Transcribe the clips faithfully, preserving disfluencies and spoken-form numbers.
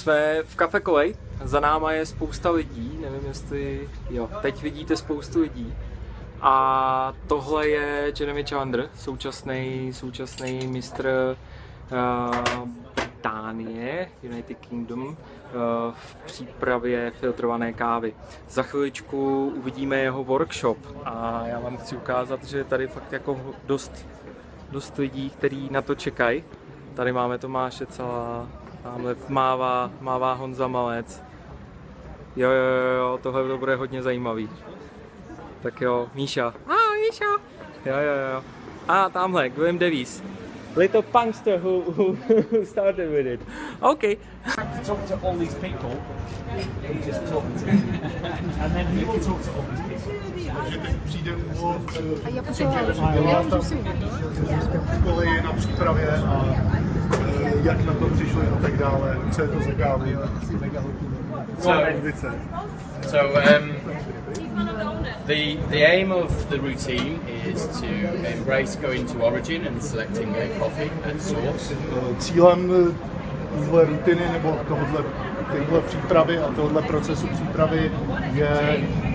Jsme v Kafe Kolej, za náma je spousta lidí, nevím jestli, jo, teď vidíte spoustu lidí. A tohle je Jeremy Chandler, současný, současný mistr uh, Británie, United Kingdom, uh, v přípravě filtrované kávy. Za chviličku uvidíme jeho workshop a já vám chci ukázat, že tady fakt jako dost, dost lidí, kteří na to čekají. Tady máme Tomáše Cala, tamhle mává, mává Honza Malec. Jo, jo, jo, jo, tohle to bude hodně zajímavý. Tak jo, Míša. Ah, Míša. Jo, jo, jo. A tamhle, Graham Davies. Little punkster who, who, who started with it. Okay. Talk to all these people, he just talked to him. And then he will talk to all these people. Takže teď přijde úvod, A já co Jeremy potřeba, dělá já tam můžu si uvědomit. v koleji na přípravě a eh, jak na to přišli a tak dále, co je to za kávu. So, Edice. so um, the the aim of the routine is to embrace going to origin and selecting a coffee at source. Eh, Cílem eh, téhle rutiny nebo tohohle, téhle přípravy a tohohle procesu přípravy je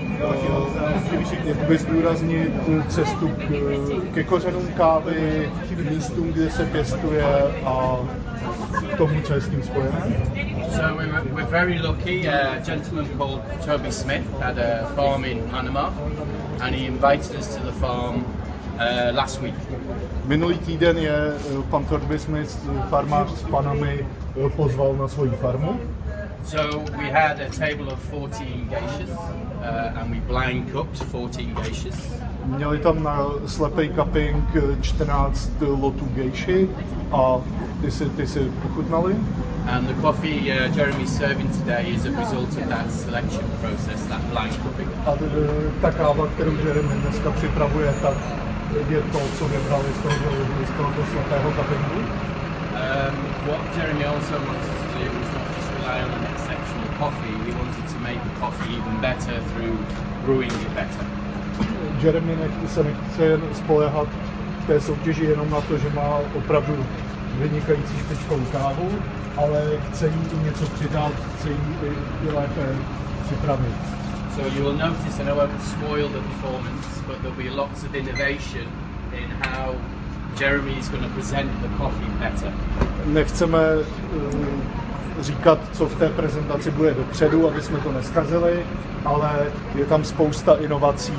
uh, jakoby zdůraznit cestu k, ke kořenům kávy, místům, kde se pěstuje a tomu, co je s tím spojené. So we were, we're very lucky. Uh, a gentleman called Toby Smith had a farm in Panama, and he invited us to the farm uh, last week. Minulý týden je eh, pan Toby Smith, farmář z Panamy, eh, pozval na svoji farmu. So we had a table of fourteen geishas, uh, and we blind cooked fourteen geishas. Měli tam na slepej cupping čtrnáct lotů gejši a ty si, ty si ochutnali. And the coffee uh, Jeremy's serving today is a result of that selection process, that blind cupping. A t- ta káva, kterou Jeremy dneska připravuje, tak je to, co vybrali z toho, z tohoto slepého cuppingu. Um, what Jeremy also wanted to do was not just rely on an exceptional coffee, he wanted to make the coffee even better through brewing it better. Jeremy nech, se nechce jen spoléhat v té soutěži jenom na to, že má opravdu vynikající špičkovou kávu, ale chce jí i něco přidat, chce jí i, i lépe připravit. So you will notice, I know I will spoil the performance, but there'll be lots of innovation in how Jeremy is going to present the coffee better. Nechceme uh, říkat, co v té prezentaci bude dopředu, aby jsme to neskazili, ale je tam spousta inovací.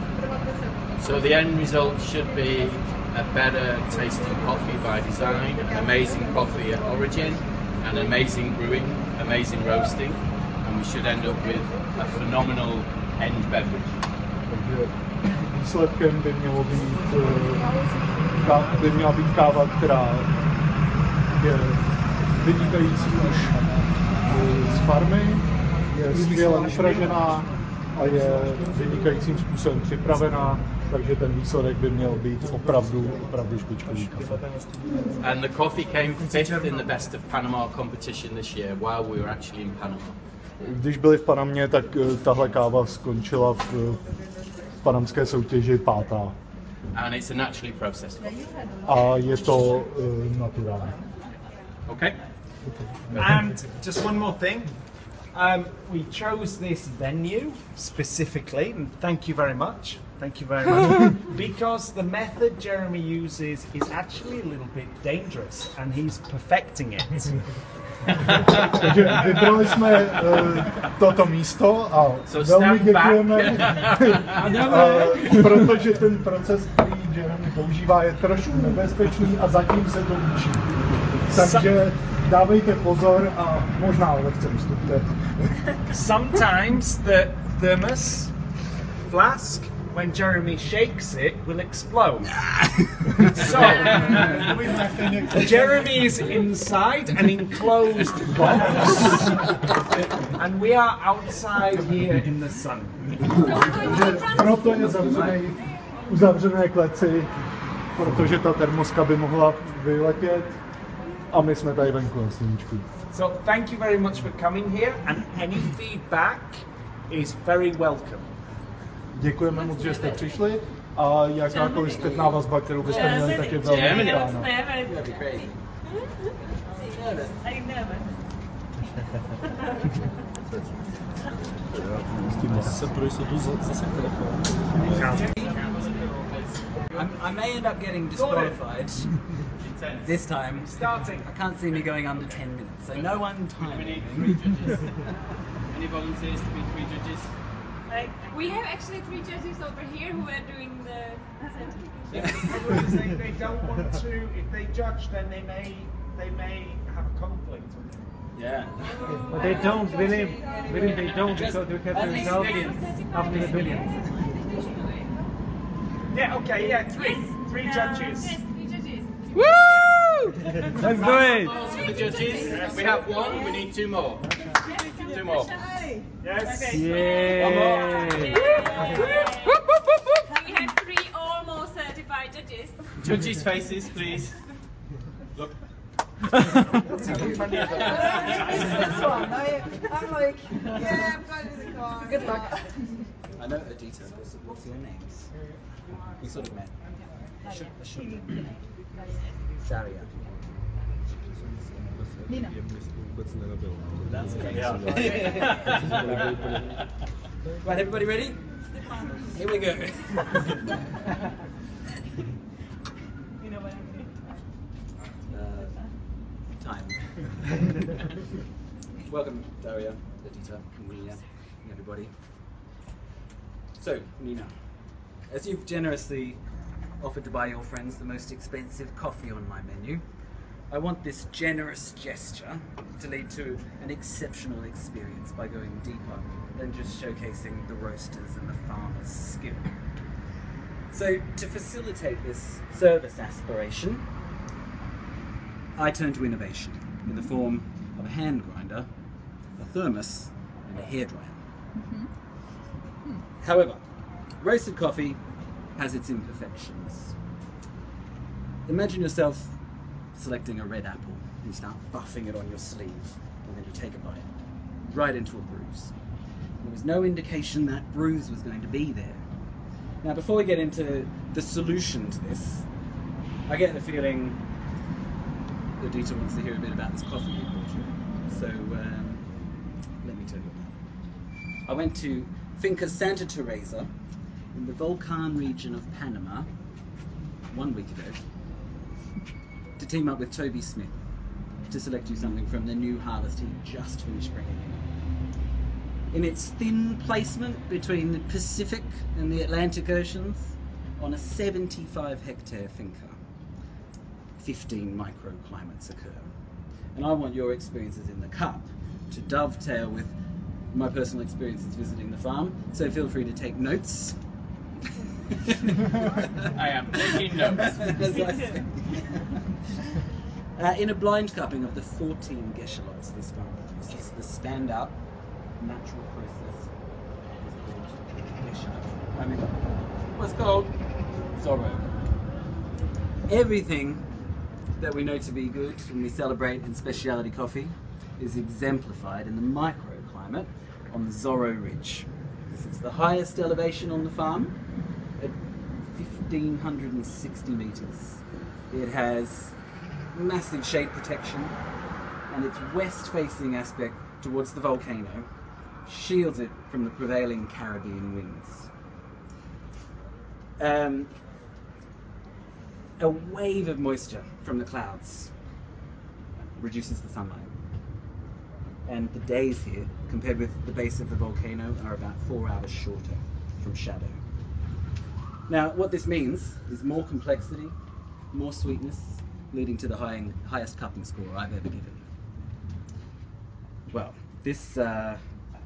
So the end result should be a better tasting coffee by design, amazing coffee at origin, and amazing brewing, amazing roasting, and we should end up with a phenomenal end beverage. Takže výsledkem by mělo být, uh, ká, by měla být káva, která je vynikající už uh, z farmy, je skvěle upražená a je vynikajícím způsobem připravená, takže ten výsledek by měl být opravdu, opravdu špičkový kafe. And the coffee came fifth in the Best of Panama competition this year while we were actually in Panama. Když byli v Panamě, tak uh, tahle káva skončila v, uh, v panamské soutěži pátá. And it's a naturally processed coffee. A je to uh, naturální. Okay? And just one more thing. Um, we chose this venue specifically, and thank you very much. Thank you very much. Because the method Jeremy uses is actually a little bit dangerous, and he's perfecting it. Takže vybrali jsme uh, toto místo a So velmi stand back. děkujeme, uh, protože ten proces, který Jeremy používá, je trošku nebezpečný a zatím se to učí. Takže dávejte pozor a možná lehce vystupte. Sometimes the thermos flask, when Jeremy shakes it, will explode. So, Jeremy is inside an enclosed box, and we are outside here in the sun. Takže proto je zavřený v uzavřené kleci, protože ta termoska by mohla vyletět a my jsme tady venku na sluníčku. So, thank you very much for coming here, and any feedback is very welcome. Děkujeme moc, že jste přišli a jakákoliv zpětná vazba, kterou byste měli, tak je velmi vítána. Are you nervous? I'm, I may end up getting disqualified this time. Starting. I can't see me going under ten minutes, so no one time. We need three judges. Any volunteers to be three judges? We have actually three judges over here who are doing the The problem is they, they don't want to. If they judge, then they may they may have a conflict. Yeah. But they don't, William. William, they don't because we have the results after the billions. Yeah. Okay. Yeah. Three. Three judges. Yes, three judges. Woo! Let's do it! Balls for the judges. We have one. We need two more. Two more. Yes. Yay! We have three almost certified judges. Judges' faces, please. Look. This one, I, I'm like, yeah, I'm going to the car. Good luck. I know Adita. What's, what's your names? We sort of met. I should, I should know. Daria. Nina. That's okay. Right, everybody ready? Here we go. You know what I'm doing? Uh, time. Welcome, Daria, Adita, and Nina, and everybody. So, Nina, as you've generously offered to buy your friends the most expensive coffee on my menu, I want this generous gesture to lead to an exceptional experience by going deeper than just showcasing the roasters and the farmer's skill. So, to facilitate this service aspiration, I turn to innovation in the form of a hand grinder, a thermos, and a hairdryer. Mm-hmm. However, roasted coffee has its imperfections. Imagine yourself selecting a red apple. You start buffing it on your sleeve, and then you take a bite, right into a bruise. There was no indication that bruise was going to be there. Now, before we get into the solution to this, I get the feeling that Adita wants to hear a bit about this coffee you bought. So, um, let me tell you about it. I went to Finca Santa Teresa in the Volcan region of Panama one week ago to team up with Toby Smith to select you something from the new harvest he just finished bringing in. In its thin placement between the Pacific and the Atlantic Oceans, on a seventy-five hectare finca, fifteen microclimates occur. And I want your experiences in the cup to dovetail with my personal experiences visiting the farm, so feel free to take notes. I am taking notes. As I say. uh, in a blind cupping of the fourteen Geschalots this farm produces, the standout natural process is called Geschalot. I mean, what's called Zorro. Everything that we know to be good when we celebrate in specialty coffee is exemplified in the microclimate on the Zorro Ridge. This is the highest elevation on the farm at fifteen sixty metres. It has massive shade protection, and its west-facing aspect towards the volcano shields it from the prevailing Caribbean winds. Um, a wave of moisture from the clouds reduces the sunlight. And the days here, compared with the base of the volcano, are about four hours shorter from shadow. Now, what this means is more complexity, more sweetness, leading to the high, highest cupping score I've ever given. Well, this, uh,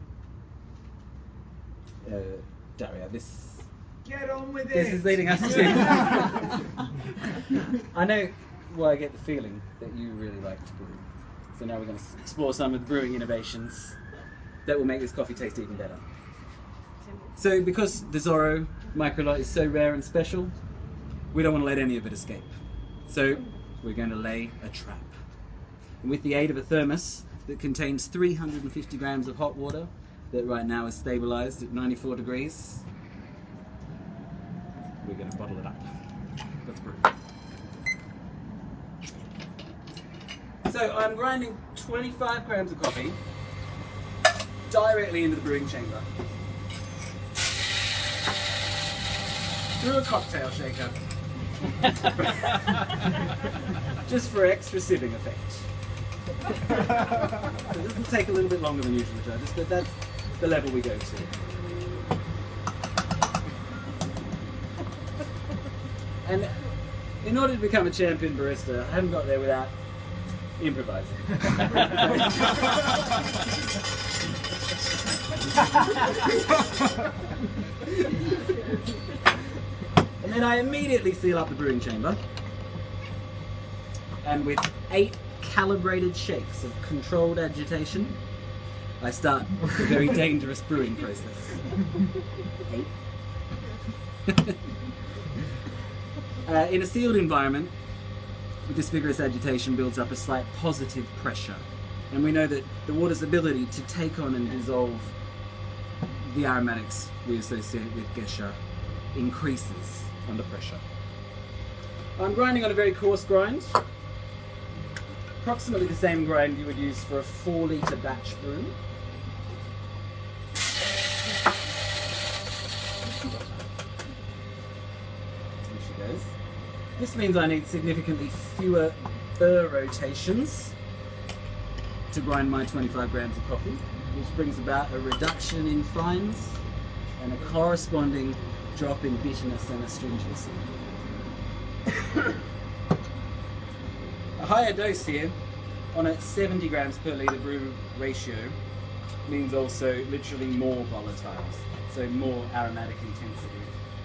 uh, Daria, this Get on with This it. is leading us to... I know, well, I get the feeling that you really like to brew. So now we're going to explore some of the brewing innovations that will make this coffee taste even better. So because the Zorro Microlite is so rare and special, we don't want to let any of it escape. So we're going to lay a trap. And with the aid of a thermos that contains three hundred fifty grams of hot water, that right now is stabilized at ninety-four degrees, we're going to bottle it up. Let's brew. So I'm grinding twenty-five grams of coffee directly into the brewing chamber. Through a cocktail shaker. Just for extra sieving effect. So this will take a little bit longer than usual judges, but that's the level we go to. And in order to become a champion barista, I haven't got there without improvising. And then I immediately seal up the brewing chamber. And with eight calibrated shakes of controlled agitation, I start the very dangerous brewing process. Eight. uh, in a sealed environment, this vigorous agitation builds up a slight positive pressure. And we know that the water's ability to take on and dissolve the aromatics we associate with Gesha increases under pressure. I'm grinding on a very coarse grind, approximately the same grind you would use for a four litre batch brew. Here she goes. This means I need significantly fewer burr rotations to grind my twenty-five grams of coffee, which brings about a reduction in fines and a corresponding drop in bitterness and astringency. A higher dose here, on a seventy grams per litre brew ratio, means also literally more volatiles, so more aromatic intensity.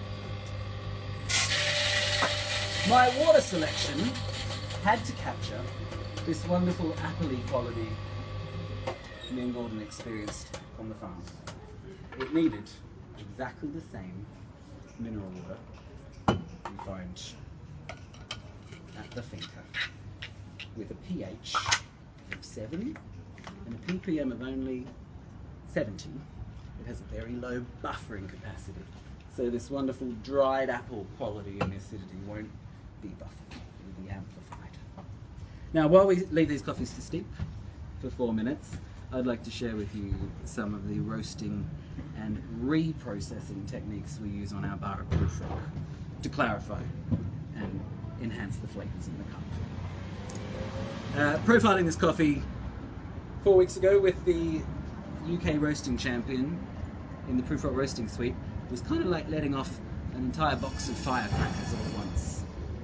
My water selection had to capture this wonderful appley quality me and Gordon experienced on the farm. It needed exactly the same mineral water you find at the finca, with a pH of seven and a ppm of only seventy. It has a very low buffering capacity, so this wonderful dried apple quality and acidity won't be buffered, it will be amplified. Now, while we leave these coffees to steep for four minutes, I'd like to share with you some of the roasting and reprocessing techniques we use on our bar at Prufrock to clarify and enhance the flavours in the cup. Uh, profiling this coffee four weeks ago with the U K roasting champion in the Prufrock roasting suite was kind of like letting off an entire box of firecrackers all at once.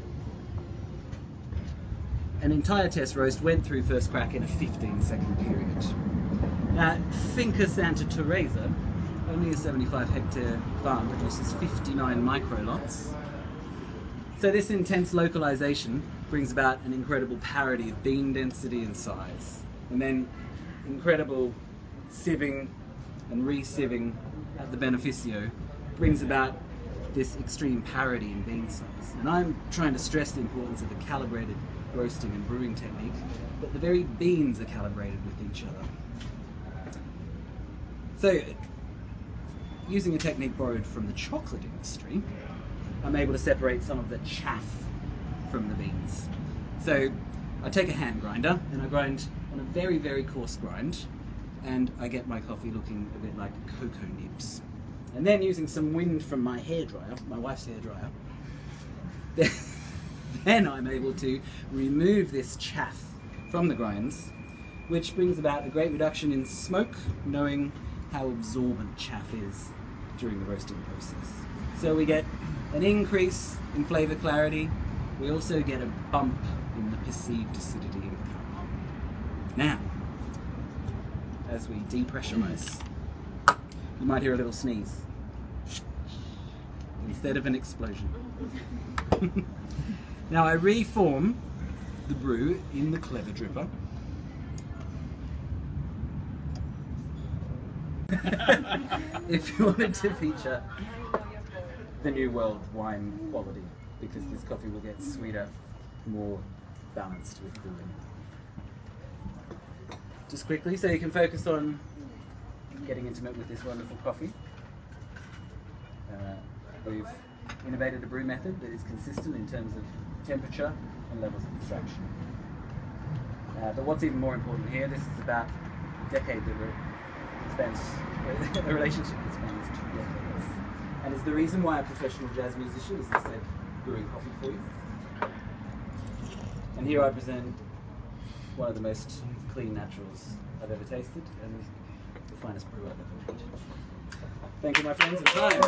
An entire test roast went through first crack in a fifteen second period. Now, Finca Santa Teresa, only a seventy-five hectare farm, produces fifty-nine microlots. So this intense localization brings about an incredible parity of bean density and size, and then incredible sieving and re-sieving at the beneficio brings about this extreme parity in bean size. And I'm trying to stress the importance of a calibrated roasting and brewing technique, but the very beans are calibrated with each other. So, using a technique borrowed from the chocolate industry, I'm able to separate some of the chaff from the beans. So, I take a hand grinder and I grind on a very, very coarse grind, and I get my coffee looking a bit like cocoa nibs. And then, using some wind from my hairdryer, my wife's hairdryer, then I'm able to remove this chaff from the grinds, which brings about a great reduction in smoke, knowing how absorbent chaff is during the roasting process. So we get an increase in flavour clarity. We also get a bump in the perceived acidity in the cup. Now, as we depressurise, you might hear a little sneeze instead of an explosion. Now I reform the brew in the Clever Dripper. If you wanted to feature the New World wine quality, because this coffee will get sweeter, more balanced with cooling. Just quickly, so you can focus on getting intimate with this wonderful coffee. Uh, we've innovated a brew method that is consistent in terms of temperature and levels of extraction. Uh, but what's even more important here, this is about a decade that we're spent, a relationship that spans two decades. And it's the reason why a professional jazz musician is instead brewing coffee for you. And here I present one of the most clean naturals I've ever tasted and the finest brew I've ever made. Thank you, my friends, and time.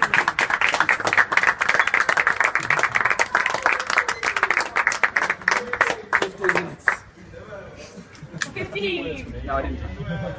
Fifteen minutes. Fifteen. No, I didn't.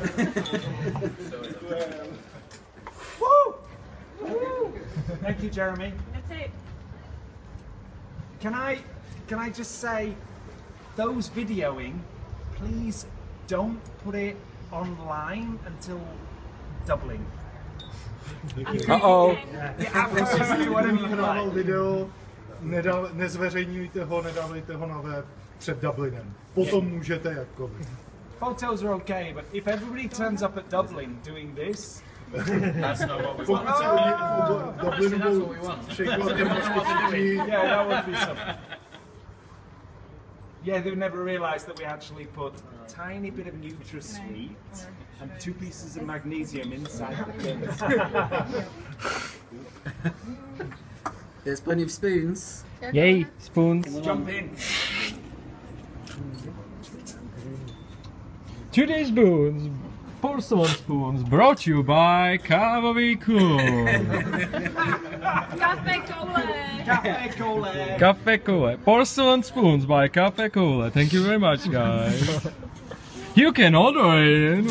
Woo! Woo! Thank you, Jeremy. That's it. Can I can I just say, those videoing, please don't put it online until doubling. Uh-oh. Yeah, after you, what I mean, Nahrával like, video, nedal, nezveřejňujte ho, nedávejte ho na web před Dublinem. Potom můžete jakkoliv. photos are okay, but if everybody turns up at Dublin doing this, That's not what we Pokud want. se oni v Actually, Dublinu that's budou what we want. překvapit všichni, yeah, that would be something. Yeah, they would never realise that we actually put a tiny bit of NutraSweet and two pieces of magnesium inside the things. There's plenty of spoons. Yay, spoons. Jump in. Today's spoons, porcelain spoons, brought to you by Kávový klub. Cafe Cole. Cafe Cole. Cafe Cole. Porcelain spoons by Cafe Cole. Thank you very much, guys. You can order it.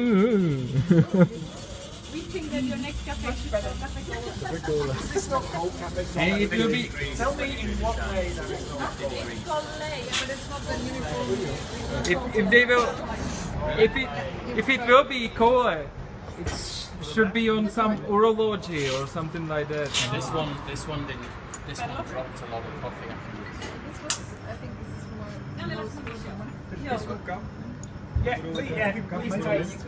We think that your next cafe should be Cafe Cole. Is this not called Cafe Cole? And it will be. Tell me in what way that is not called. It's called Lay, but it's not the uniform. If, if they will, if it, if it will be Cole, it sh- should be on some urology or something like that. This one, this one didn't. This one dropped a lot of coffee afterwards. This was, I think this is more. No, let's not show. This will come. Yeah, please, yeah, please taste.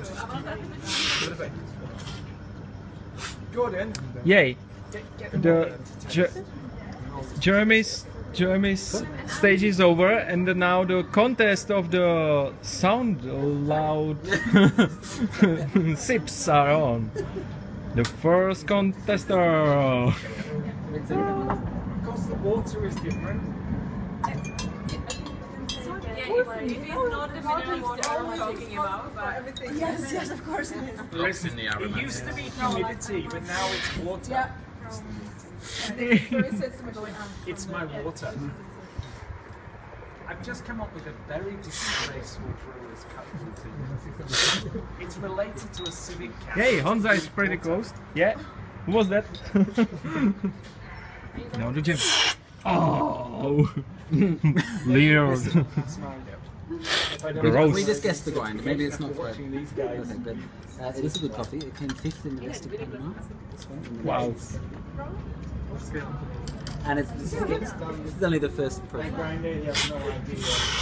Gordon, Yay. get, get them all The in to Je- taste. Jeremy's Jeremy's stage is over, and now the contest of the sound loud sips are on. The first contester. Because the water is different. Yeah, if, if it's not the mineral water I'm talking about, but Everything. Yes, yes, of course it is. Drops in the It aromat. used to be humidity, but now it's water. Yeah. Very sensitive. It's my water. I've just come up with a very disgraceful brewer's cut routine. It's related to a civic council. Hey, Honza is pretty close. Yeah. Who was that? No, the gym. Oh, Leon. Gross. We just guessed the grind. Maybe it's not quite perfect, but uh, it is a good coffee. It came fifth in the rest of Panama. This one. in the Wow. States. And it's, this, is, this is only the first I profile. grind it, you have no idea.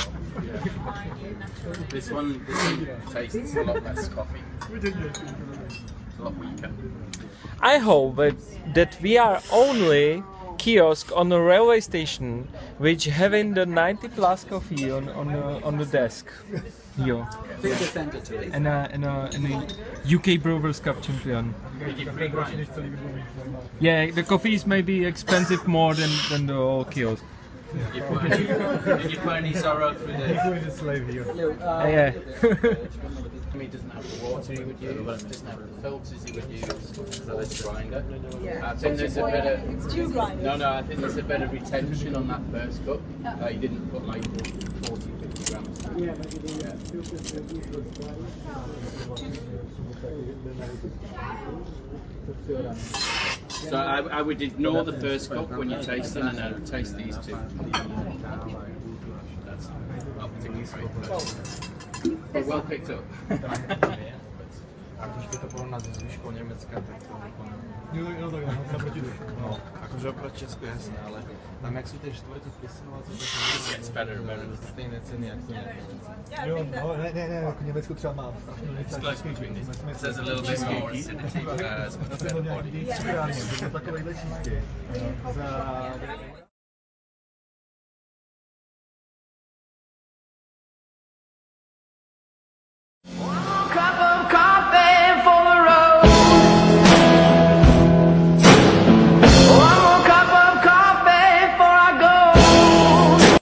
This one, this one tastes a lot less coffee. It's a lot weaker. I hope that, that we are only kiosk on a railway station which having the ninety plus coffee on, on the on the desk. Here. Big defender to it. And a, and a, and a U K Brewers Cup champion. Yeah, the coffee is maybe expensive more than, than the old kiosk. Did you put any, did you put any sorrow through the... Little, uh, Yeah. He doesn't have the water he would use, doesn't have the filters he would use for this grinder. I think there's a better... It's two grinders. No, no, I think there's a better retention on that first cup. Uh, he didn't put like forty, fifty grams through. Yeah. So I, I would ignore the first cup when you're tasting, and I would taste these two. That's not particularly great, but, but well picked up. A když by to porovnat se zvyškou Německa, tak to úplně... Jo, jo, tak no, naproti no, jakože oproti Česku jasně, ale tam jak jsou ty čtvrtě pisinovací, tak Gets better and better. to stejné ceny jako Německo. Jo, no, ne, ne, ne, jako Německo třeba má. It's close between these. There's a little bit more acidity, uh, it's much better body. Takovejhle čistě. Za